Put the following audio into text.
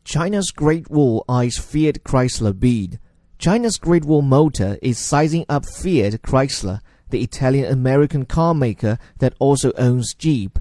China's Great Wall eyes Fiat Chrysler bid. China's Great Wall Motor is sizing up Fiat Chrysler, the Italian-American car maker that also owns Jeep,